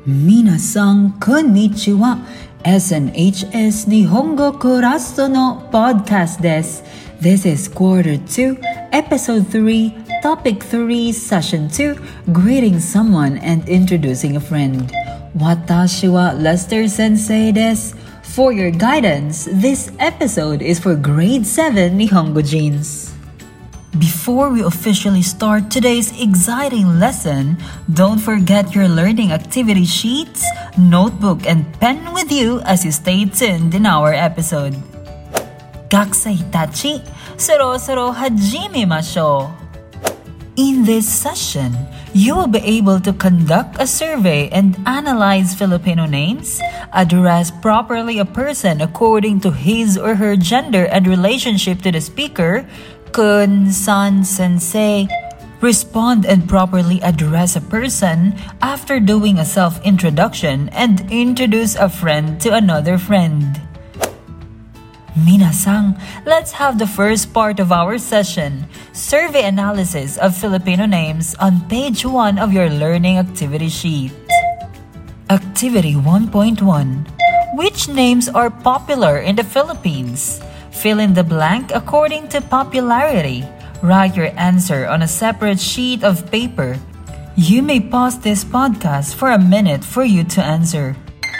Minasan konnichiwa. SNHS Nihongo Kuraso no podcast desu. This is quarter 2, episode 3, topic 3, session 2, greeting someone and introducing a friend. Watashi wa Lester Sensei desu. For your guidance, this episode is for grade 7 Nihongo Jeans. Before we officially start today's exciting lesson, don't forget your learning activity sheets, notebook, and pen with you as you stay tuned in our episode. Gakusai tachi, soro hajimemashou. In this session, you will be able to conduct a survey and analyze Filipino names, address properly a person according to his or her gender and relationship to the speaker, kun, san, sensei, respond and properly address a person after doing a self-introduction, and introduce a friend to another friend. Minasan, let's have the first part of our session, survey analysis of Filipino names, on page 1 of your learning activity sheet. Activity 1.1. Which names are popular in the Philippines? Fill in the blank according to popularity. Write your answer on a separate sheet of paper. You may pause this podcast for a minute for you to answer.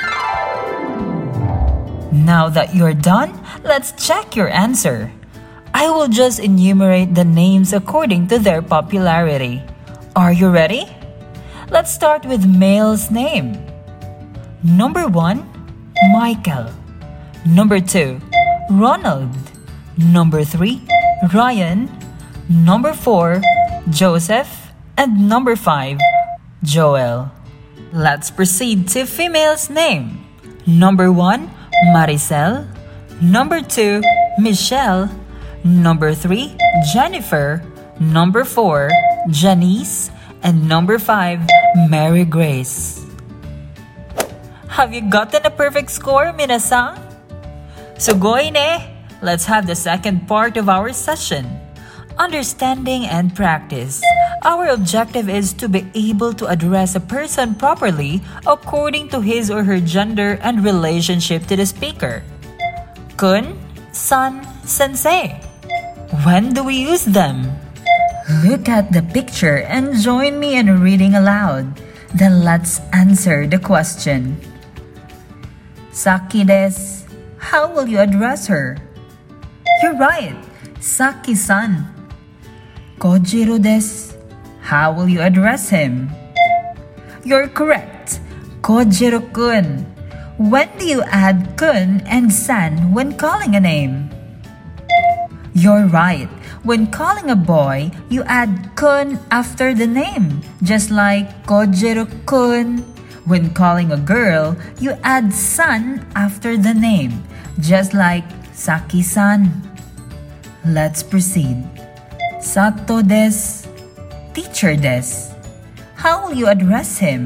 Now that you're done, let's check your answer. I will just enumerate the names according to their popularity. Are you ready? Let's start with male's name. Number 1, Michael. Number 2, Ronald. Number 3, Ryan. Number 4, Joseph. And number 5, Joel. Let's proceed to female's name. Number 1, Maricel. Number 2, Michelle. Number 3, Jennifer. Number 4, Janice. And number 5, Mary Grace. Have you gotten a perfect score, minasan? Sugoi ne! Let's have the second part of our session. Understanding and practice. Our objective is to be able to address a person properly according to his or her gender and relationship to the speaker. Kun, san, sensei. When do we use them? Look at the picture and join me in reading aloud. Then let's answer the question. Saki desu. How will you address her? You're right, Saki-san. Kojiro desu. How will you address him? You're correct, Kojiro-kun. When do you add kun and san when calling a name? You're right. When calling a boy, you add kun after the name, just like Kojiro-kun. When calling a girl, you add san after the name, just like Saki-san. Let's proceed. Sato desu. Teacher desu. How will you address him?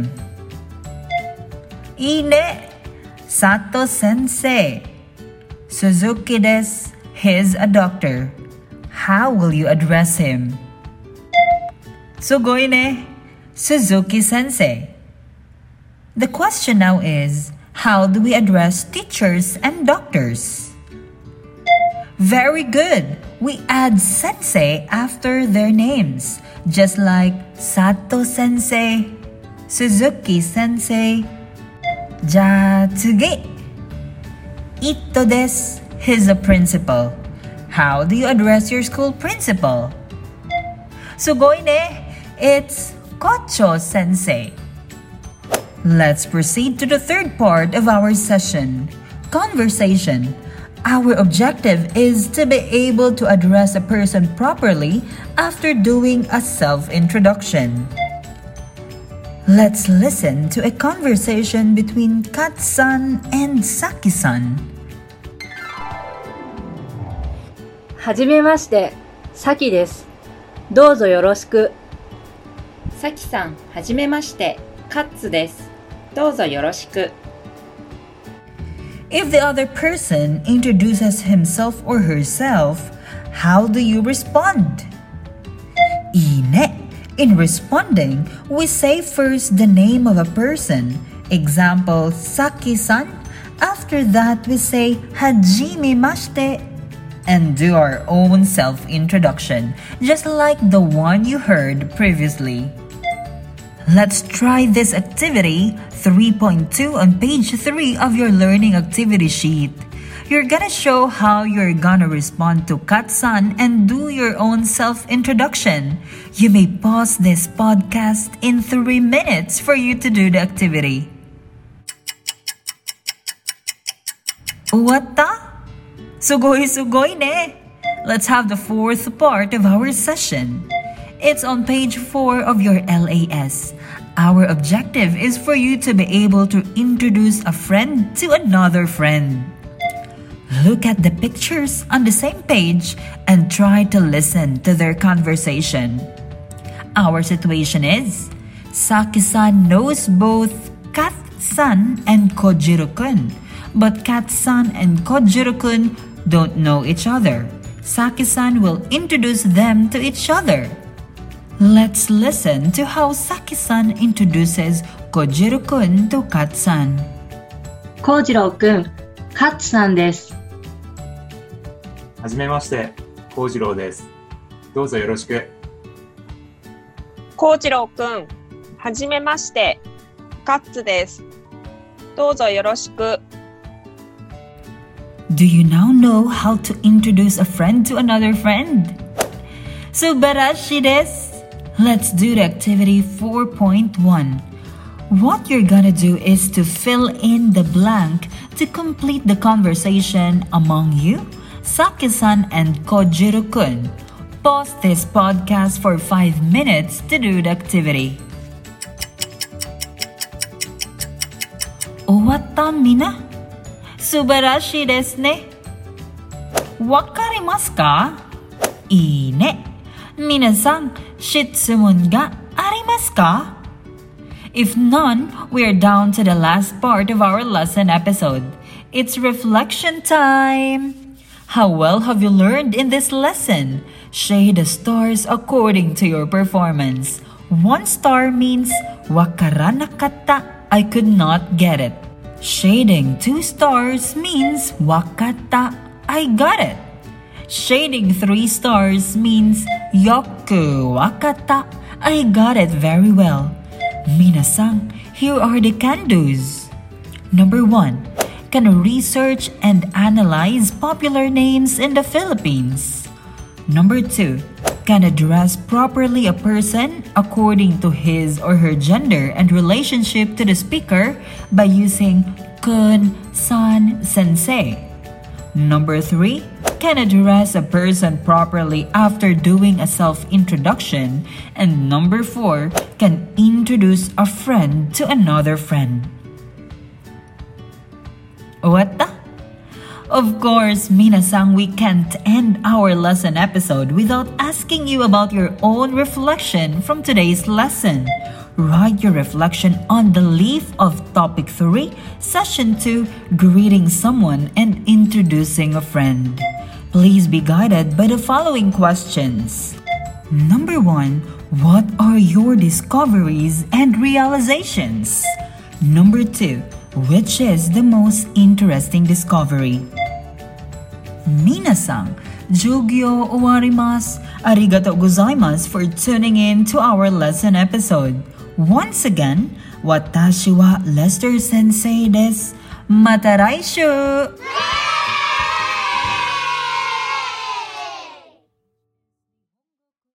Ine. Sato sensei. Suzuki desu. He's a doctor. How will you address him? Sugoi ne. Suzuki sensei. The question now is, how do we address teachers and doctors? Very good. We add sensei after their names, just like Sato sensei, Suzuki sensei. Ja, tsugi. Ito desu. He's a principal. How do you address your school principal? Sugoi ne. It's Kocho sensei. Let's proceed to the third part of our session, conversation. Our objective is to be able to address a person properly after doing a self-introduction. Let's listen to a conversation between Kat-san and Saki-san. はじめまして、さきです。どうぞよろしく。 さきさん、はじめまして、カッツです。どうぞよろしく。 If the other person introduces himself or herself, how do you respond? Ine. In responding, we say first the name of a person Example, Saki-san. After that, we say Hajimemashite and do our own self-introduction, just like the one you heard previously. Let's try this activity 3.2 on page 3 of your learning activity sheet. You're gonna show how you're gonna respond to Katsan and do your own self-introduction. You may pause this podcast in 3 minutes for you to do the activity. Wata? Sugoi ne! Let's have the fourth part of our session. It's on page 4 of your LAS. Our objective is for you to be able to introduce a friend to another friend. Look at the pictures on the same page and try to listen to their conversation. Our situation is, Saki-san knows both Kat-san and Kojiro-kun, but Kat-san and Kojiro-kun don't know each other. Saki-san will introduce them to each other. Let's listen to how Saki-san introduces Kojiro-kun to Kat-san. Kojiro-kun、カッツさんです。 はじめまして、幸次郎です。どうぞよろしく。 幸次郎くん、はじめまして、カッツです。どうぞよろしく。 Do you now know how to introduce a friend to another friend? Subarashi desu! Let's do the activity 4.1. What you're gonna do is to fill in the blank to complete the conversation among you, Saki-san and Kojiro-kun. Pause this podcast for 5 minutes to do the activity. Owatta mina? Subarashi desu ne. Wakarimasu ka? Ii ne. Minasan, shitsumun ga arimasu ka? If none, we're down to the last part of our lesson episode. It's reflection time. How well have you learned in this lesson? Shade the stars according to your performance. 1 star means wakaranakatta, I could not get it. Shading 2 stars means wakatta, I got it. Shading 3 stars means yoku wakatta, I got it very well. Minasan, here are the can-dos. Number 1. Can research and analyze popular names in the Philippines. Number 2. Can address properly a person according to his or her gender and relationship to the speaker by using kun, san, sensei. Number 3. Can address a person properly after doing a self-introduction. And number 4. Can introduce a friend to another friend. What the? Of course, Minasan, we can't end our lesson episode without asking you about your own reflection from today's lesson. Write your reflection on the leaf of Topic 3, Session 2, Greeting Someone and Introducing a Friend. Please be guided by the following questions. Number 1. What are your discoveries and realizations? Number 2. Which is the most interesting discovery? Minasan, Jugyo owarimasu. Arigatou gozaimasu for tuning in to our lesson episode. Once again, watashi wa Lester Sensei desu. Mata raishu!